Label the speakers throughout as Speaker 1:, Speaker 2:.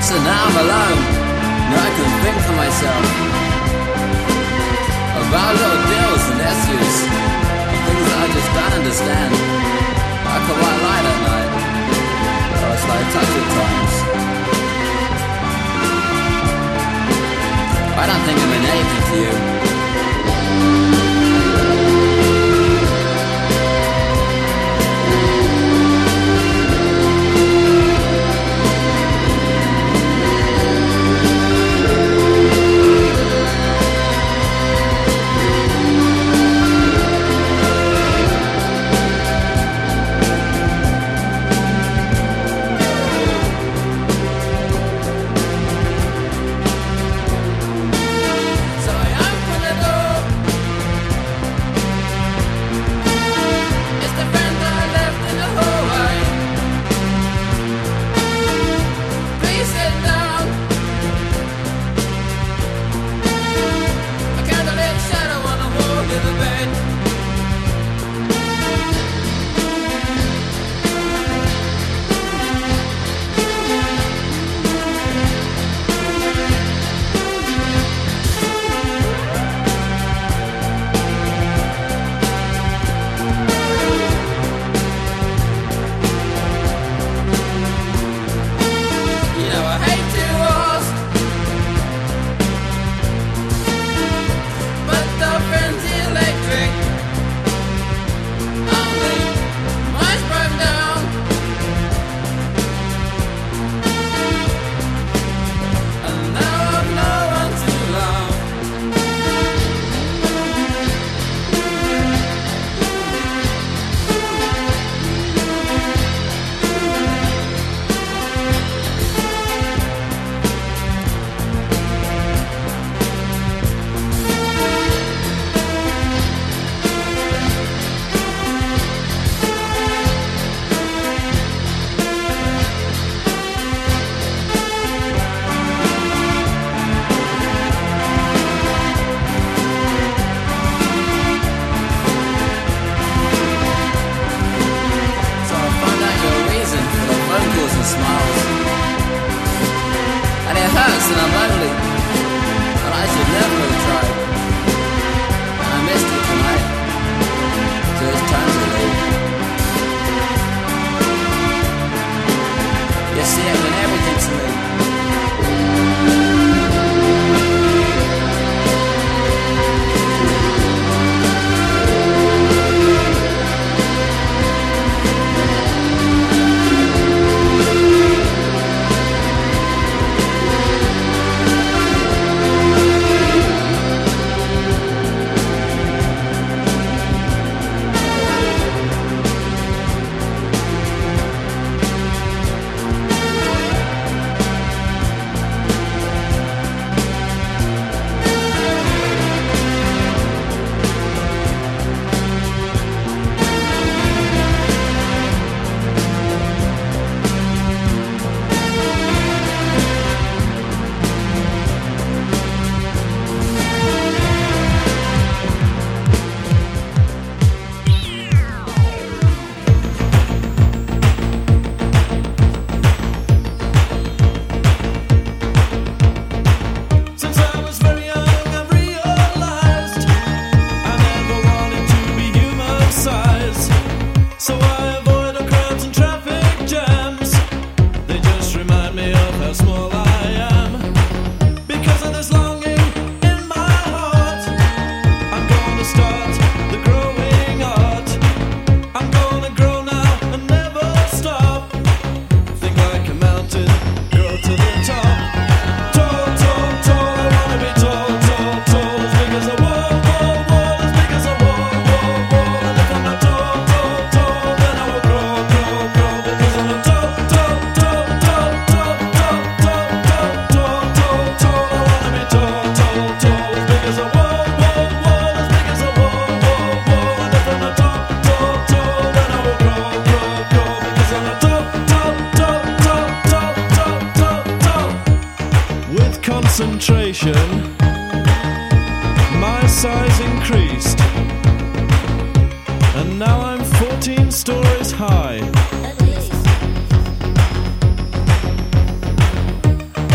Speaker 1: So now I'm alone, now I can think for myself about little deals and issues, things that I just don't understand. Like a white light at night, or a slow touch at times. I don't think I mean anything to you.
Speaker 2: concentration, my size increased, and now I'm 14 stories high.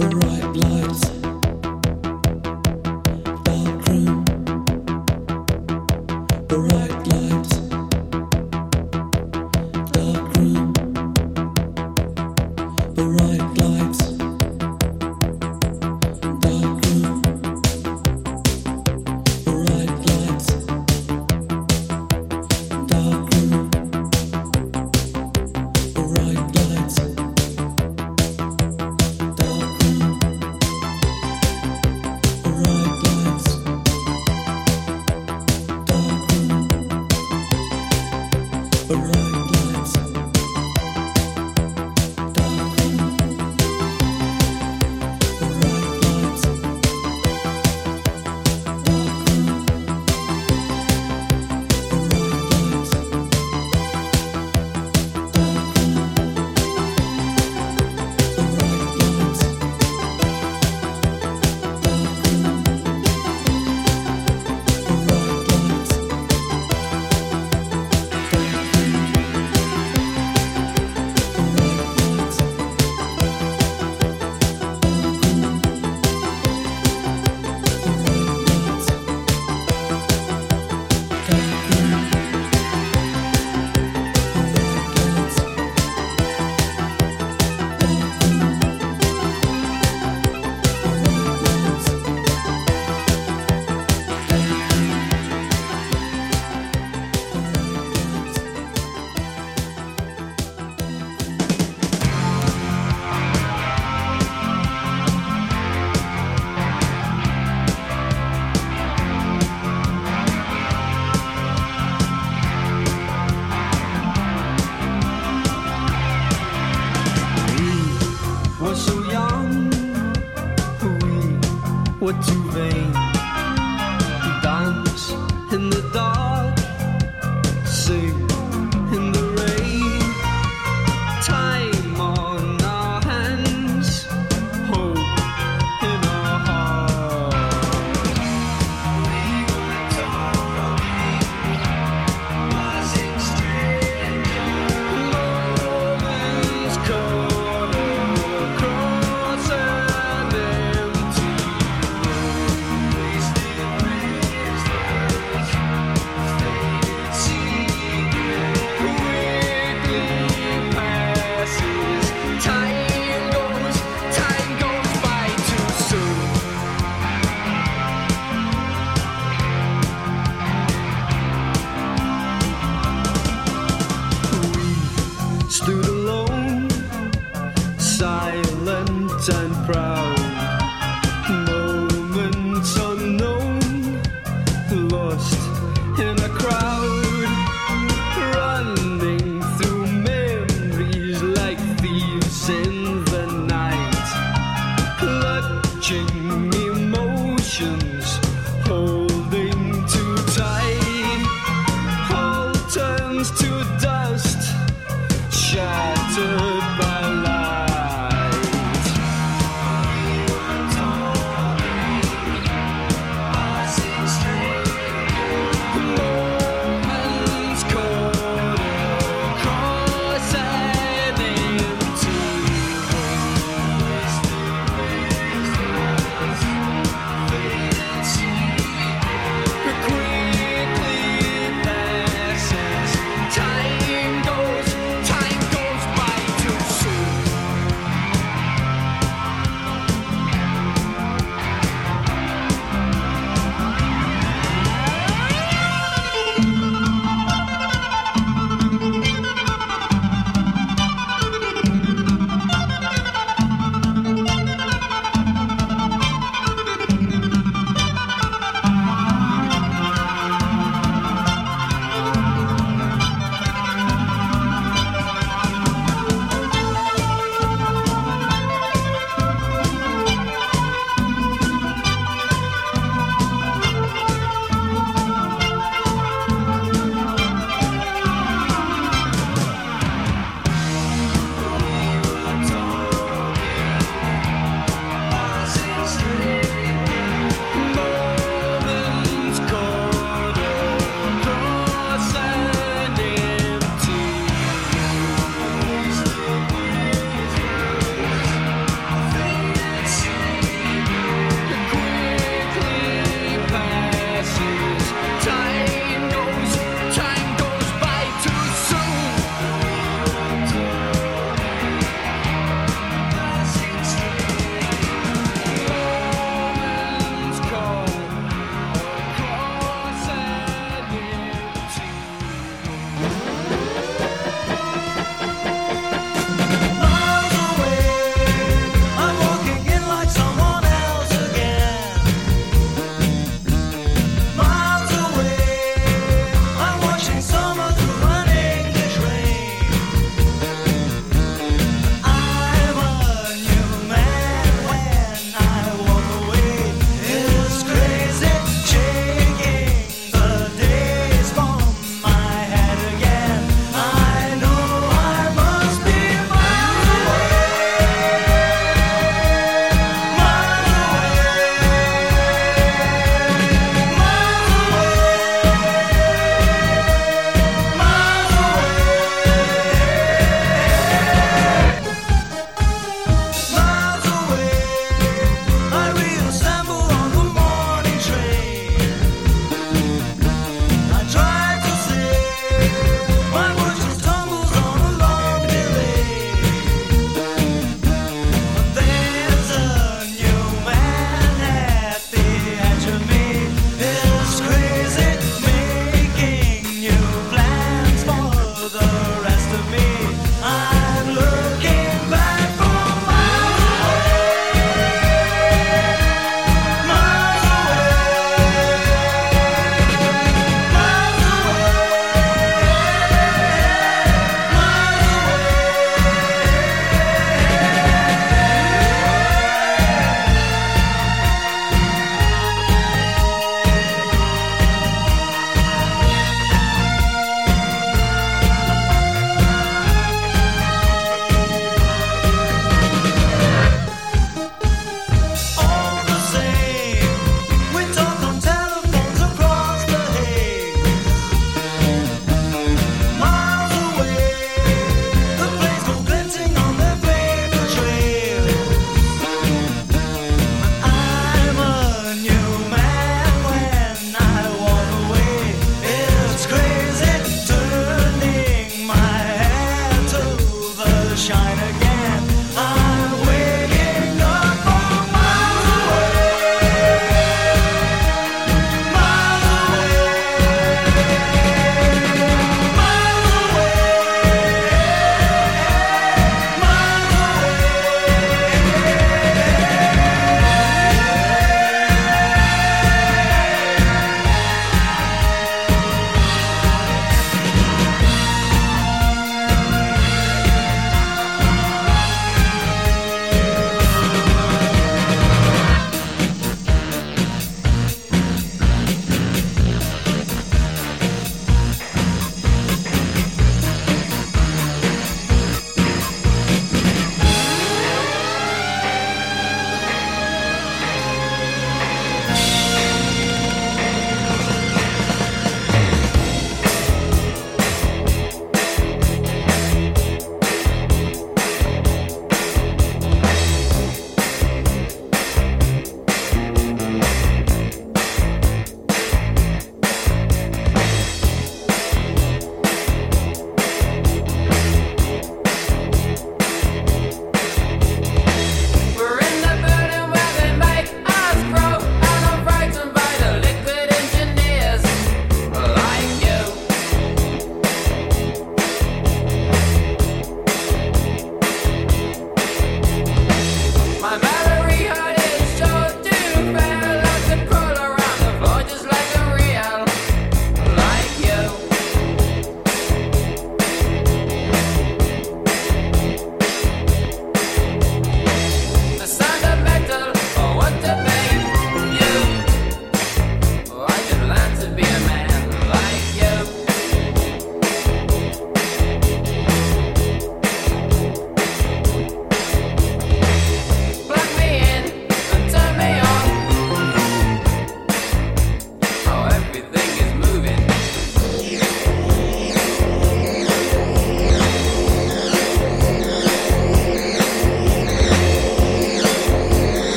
Speaker 3: Shattered by light.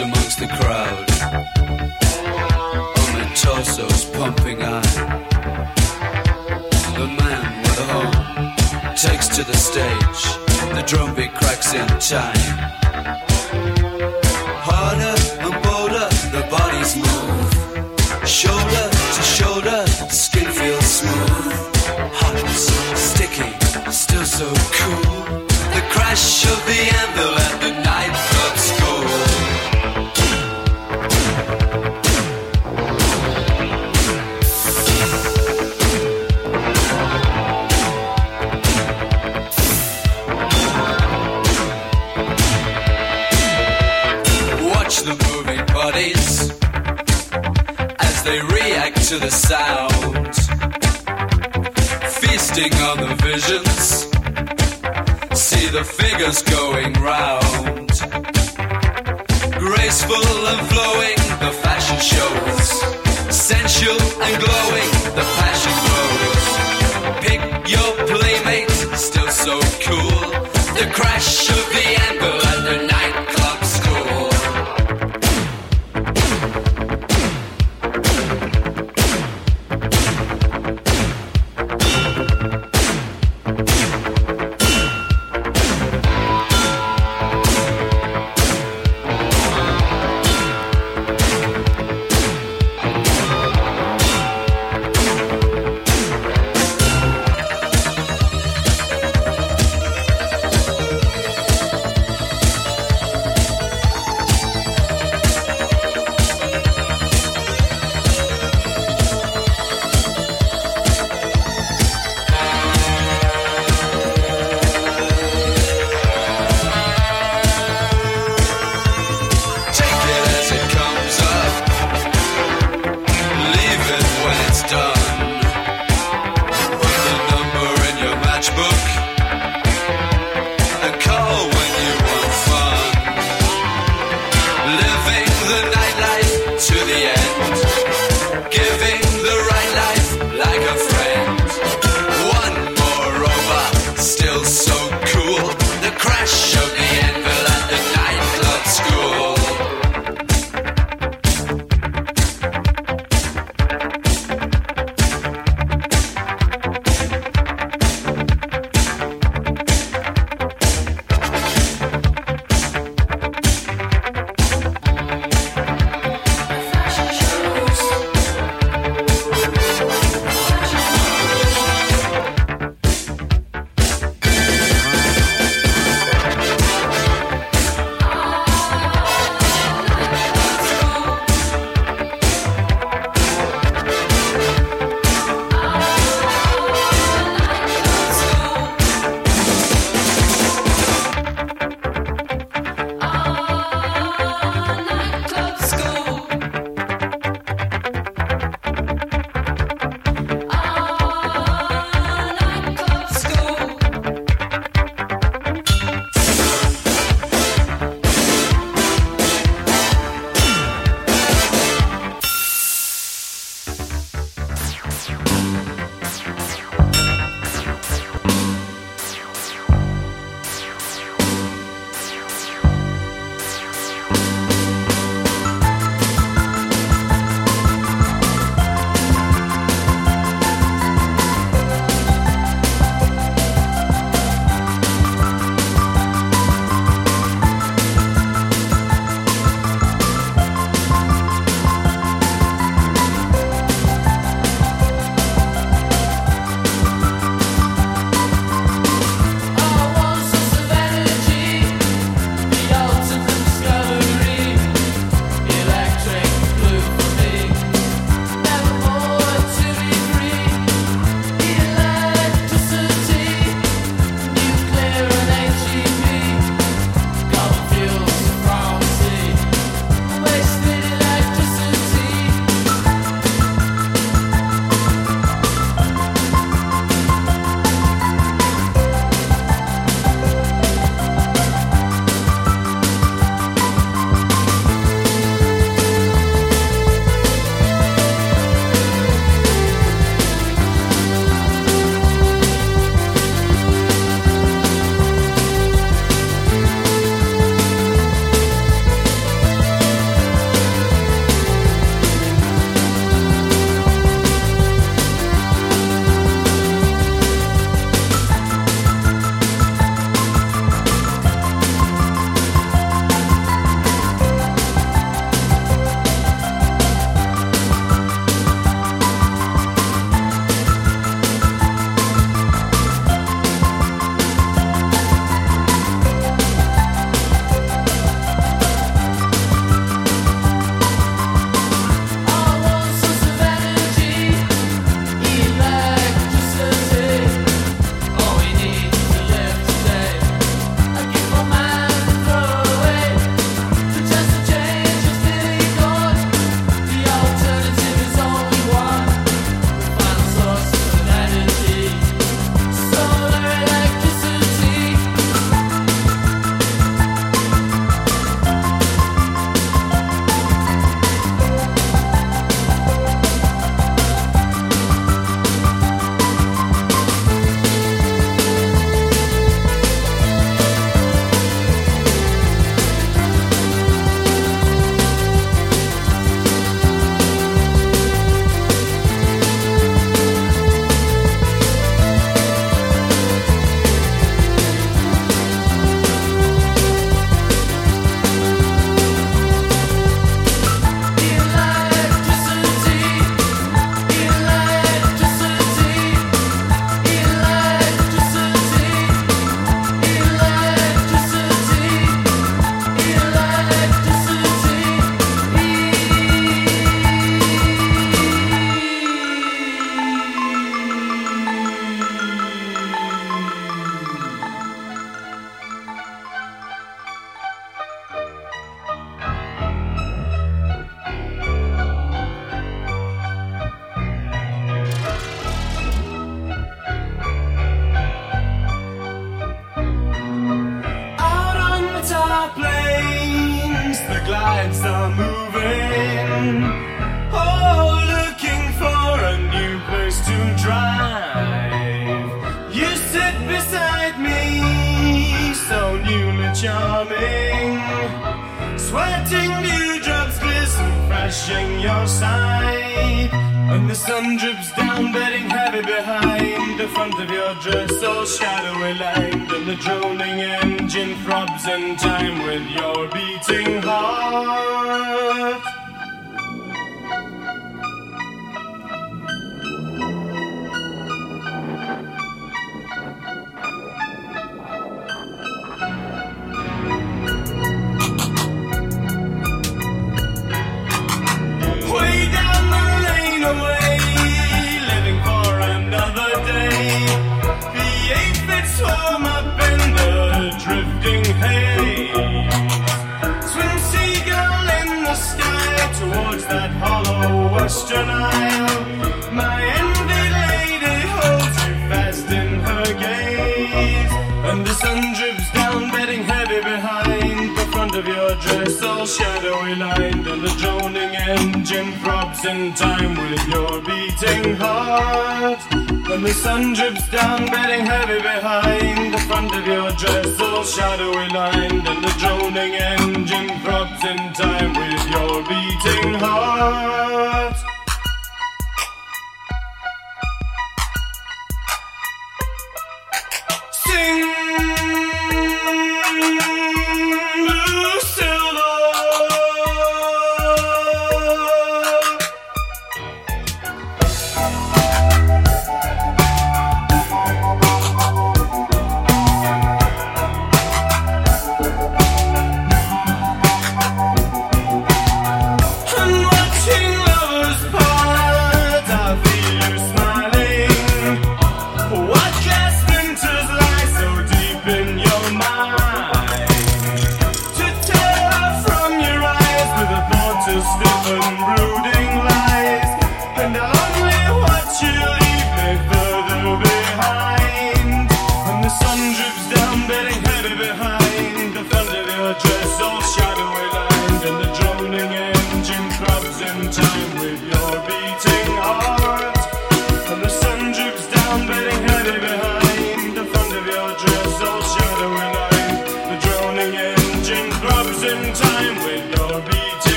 Speaker 1: amongst the crowd. Only torsos pumping iron. The man with a home takes to the stage. The drum beat cracks in time. Harder and bolder, the bodies move. Shoulder to shoulder, the skin feels smooth. Hot, sticky, still so cool. The crash of the anvil at the nightclub school. Watch the moving bodies as they react to the sound. Feasting on the visions, see the figures going round. Graceful and flowing, the fashion shows. Sensual and glowing, the passion glows. Pick your playmate, still so cool. The crash of the anvil at the nightclub school.
Speaker 3: tides are moving, oh, looking for a new place to drive. You sit beside me, so newly charming, sweating dewdrops glisten fresh in your side, and the sun drips down, bedding heavy behind the front of your dress, all shadowy lined, and the droning engine throbs in time with your beating heart. Swim up in the drifting haze, swim seagull in the sky towards that hollow western isle. My envied lady holds you fast in her gaze, and the sun drips down, bedding heavy behind the front of your dress, all shadowy lined, and the droning engine throbs in time with your beating heart. And the sun drips down, bedding heavy behind the front of your dress, all shadowy lined, and the droning engine throbs in time with your beating heart. Sing, blue silver.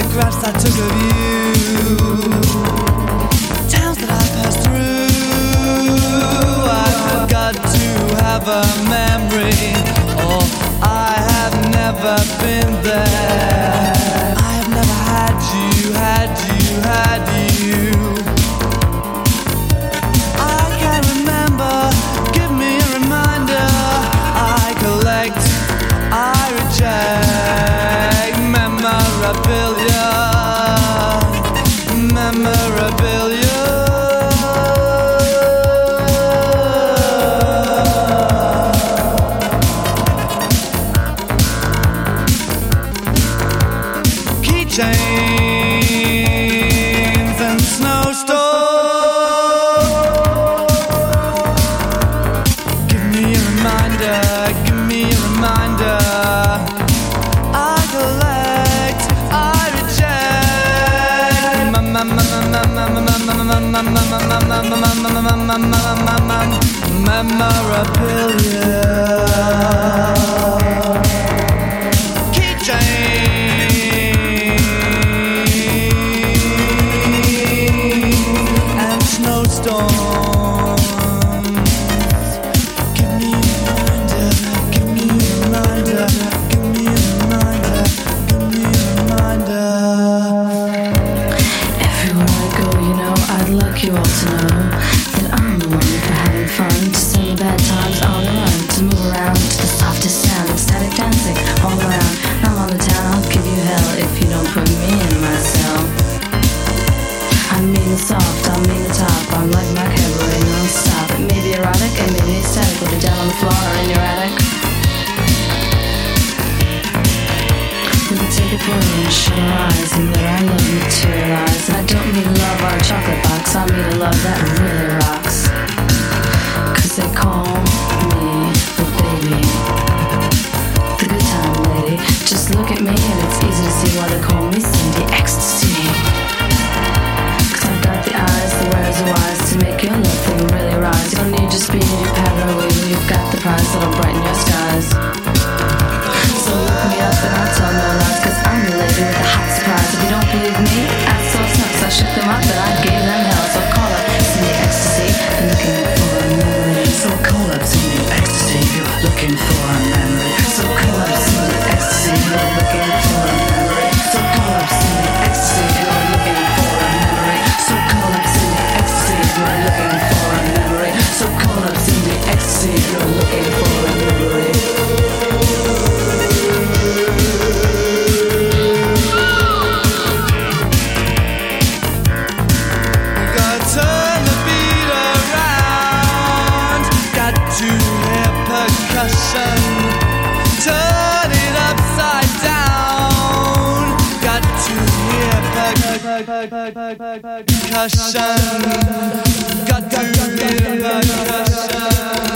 Speaker 1: photographs I took of you, towns that I passed through. I've got to have a memory, or I have never been there. I have never had you, had you, had you. I can't remember, give me a reminder. I collect, I reject memorabilia, memorabilia. Keychains and snowstorms. Give me a reminder, give me a reminder. I collect, I reject memorabilia.
Speaker 4: You all to know that I'm the one for having fun, to sing bad times on the run, to move around to the softest sound, ecstatic dancing all around. I'm on the town, I'll give you hell if you don't put me in my cell. I mean the soft, I mean the top, I'm like my cabaret non-stop. It may be erotic, it may be ecstatic, put it down on the floor or in your attic. We can take a pill and shut our eyes and let our love materialize. And I don't mean love or a chocolate box, I mean a love that really rocks. Cause they call me the baby, the good time lady. Just look at me and it's easy to see why they call me Cindy Ecstasy. Cause I've got the eyes, the wares, the wise to make your love thing really rise. You don't need your speed, your pattern or wheel, you've got the prize that'll brighten your skies. So look me up and I'll tell no lies, cause I'm the lady with the hot surprise. If you don't believe me, ask those nuts. I shook them up and I gave them hell. So call up Cindy Ecstasy if you're looking for a memory. So call up Cindy Ecstasy if you're looking for a memory. So call up Cindy Ecstasy if you're looking for a memory. So call up Cindy Ecstasy if you're looking for a memory. So call up Cindy Ecstasy if you're looking for a memory. So call up Cindy Ecstasy if you're looking for a memory.
Speaker 1: Turn it upside down. Got to hear percussion. Got to hear percussion.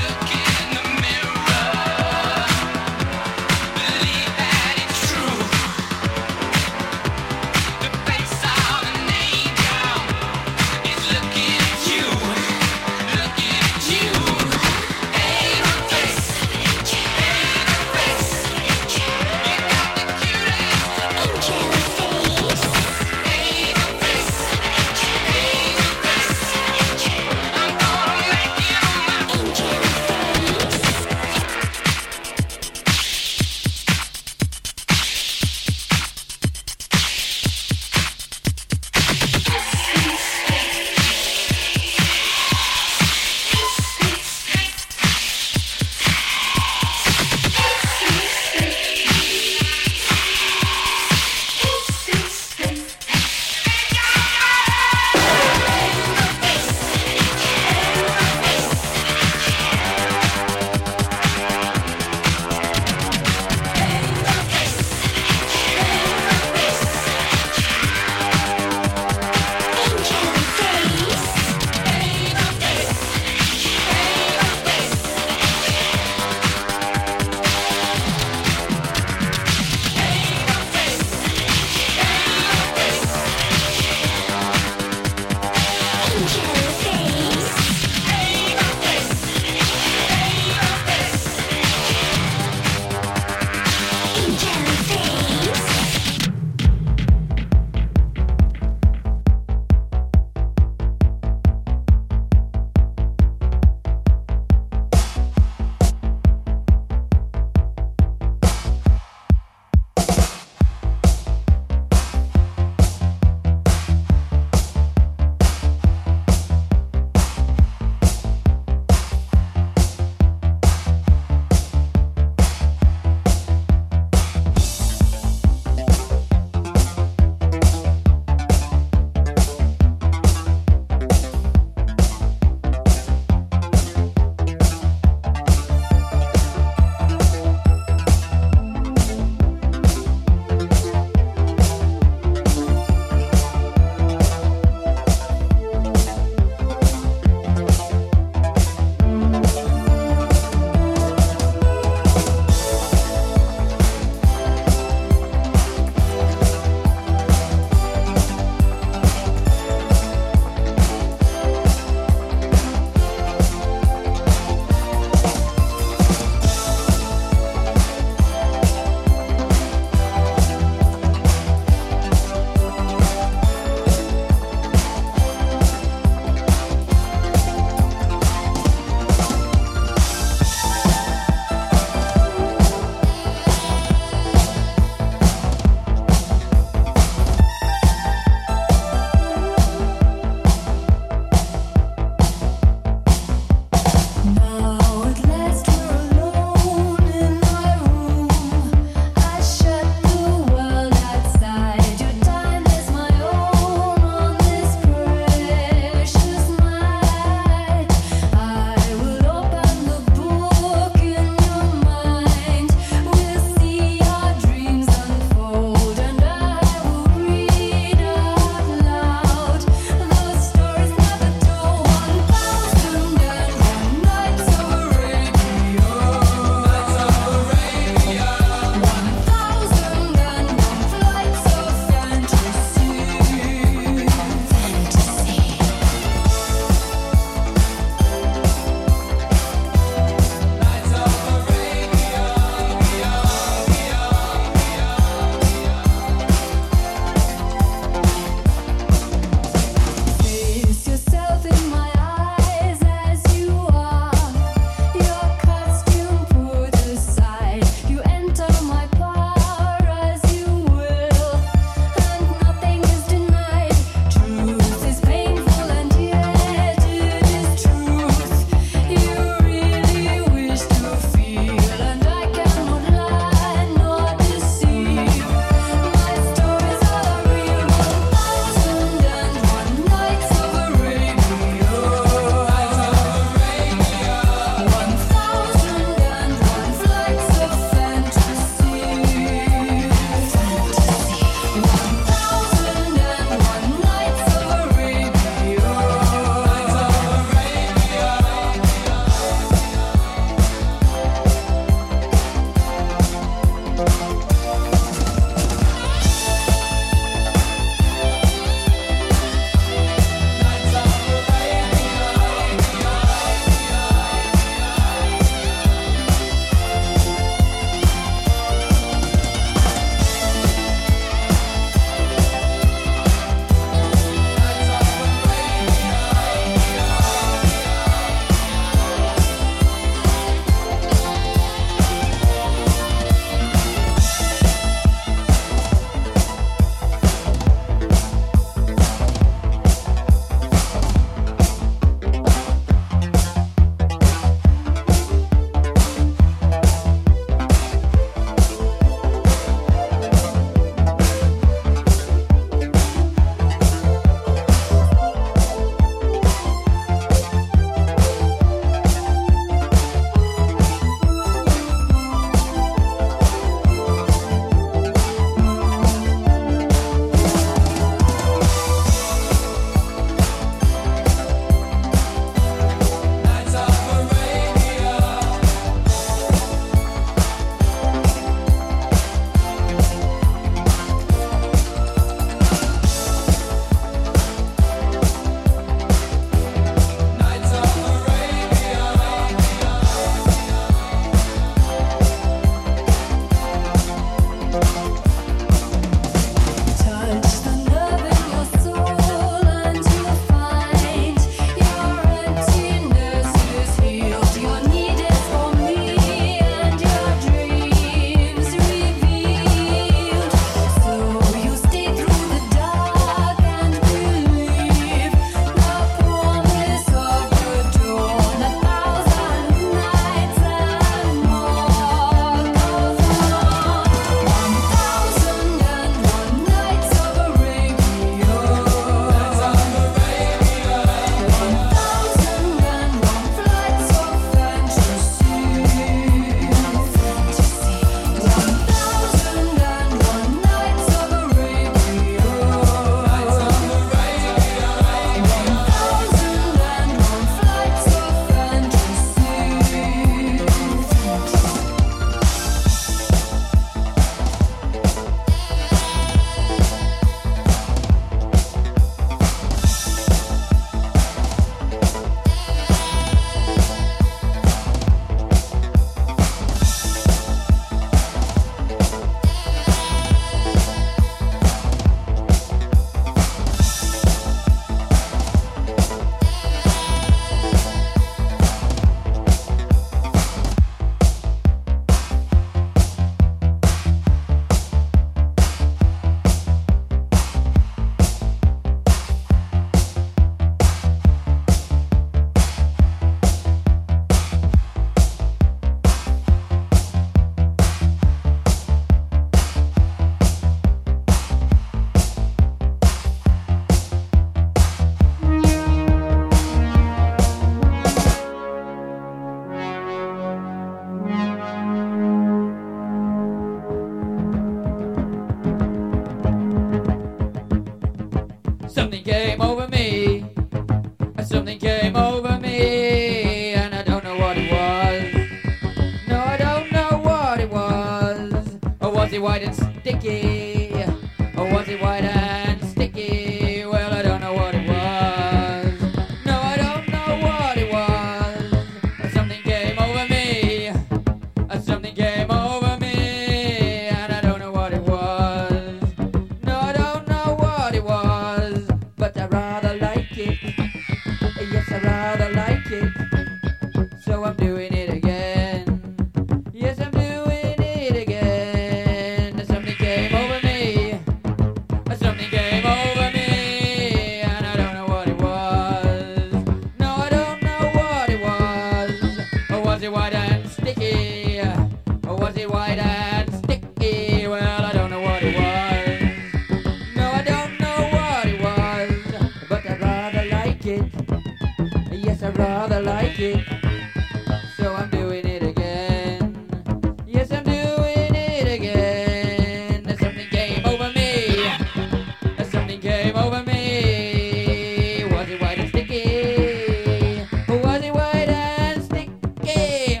Speaker 5: Something came over me. Something came over me, and I don't know what it was. No, I don't know what it was. Or was it white and sticky? Or was it white and sticky? Well, I don't know what it was. No, I don't know what it was. Something came over me. Something came over me, and I don't know what it was. No, I don't know what it was, but I rather like it. Yes, I rather like it. So I'm doing it again. Yes, I'm doing it again. Something came over me. Something came over me, and I don't know what it was. No, I don't know what it was. Or was it white and sticky? Or was it white and sticky? Well, I don't know what it was. No, I don't know what it was, but I'd rather like it. Yes, I'd rather like it. So I'm doing it again. Yes, I'm doing it again. Something came over me. Something came over me. Was it white and sticky? Or was it white and sticky?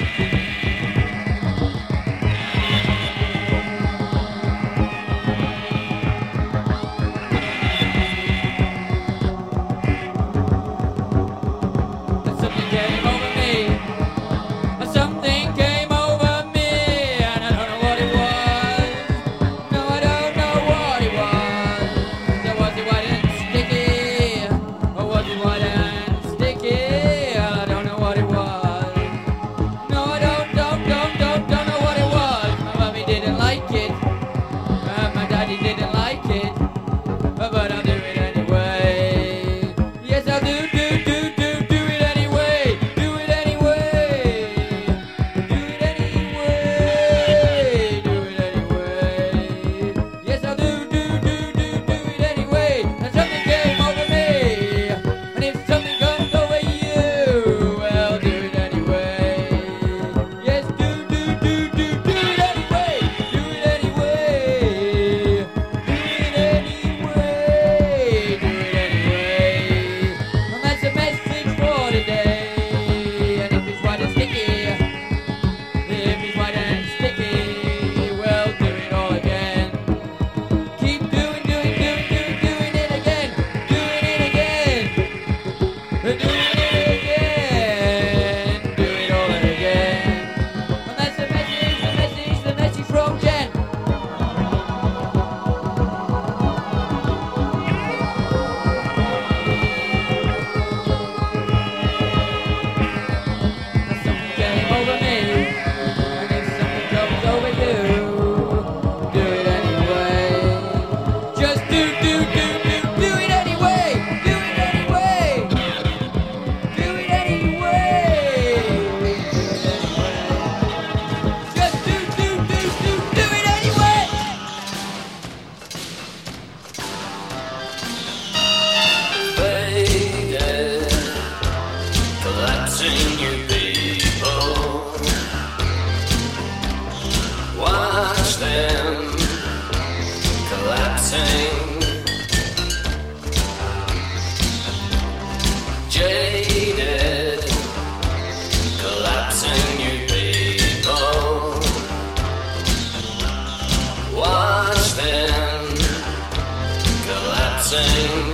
Speaker 5: Something came over me. Something came over me, and I don't know what it was. No, I don't know what it was. So was it white and sticky? Or was it white and sticky? I don't know what it was. No, I don't know what it was. My mommy didn't like it. My daddy didn't like it. But I'll do it anyway. Yes, I'll do it anyway. Do it anyway. Do it anyway. Do it anyway. Yes, I'll do it anyway. And something came over me. And if something comes over you, well, do it anyway. Yes, do it anyway. Do it anyway. Do it anyway. Do it anyway. And that's a message for today. And if it's white and sticky, if it's white and sticky, well, do it all again. Keep doing it again. Doing it again. Doing it again. Do it all again. And that's the message from Jen. Something came over me, and if something comes over you, do it anyway. Just do it anyway. Do it anyway. Do it anyway. Just do it anyway.
Speaker 1: Faded, collapsing you people. Watch them collapsing. Jaded, collapsing you people. Watch them collapsing.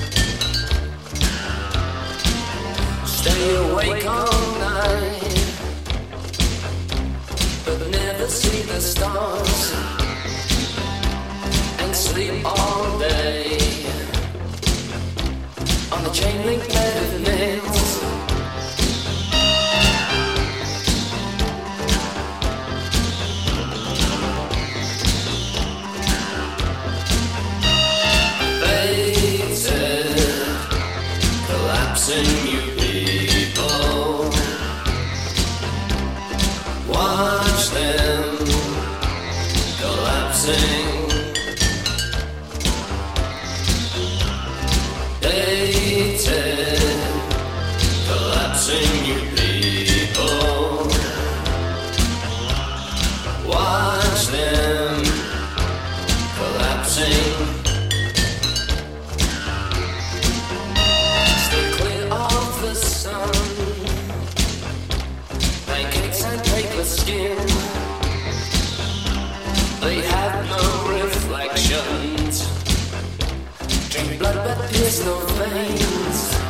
Speaker 1: Stay awake all night, but never see the stars, and sleep all day on the chain link bed of nails. Fated, collapsing you people. Watch them collapsing. Dated, pierce no veins.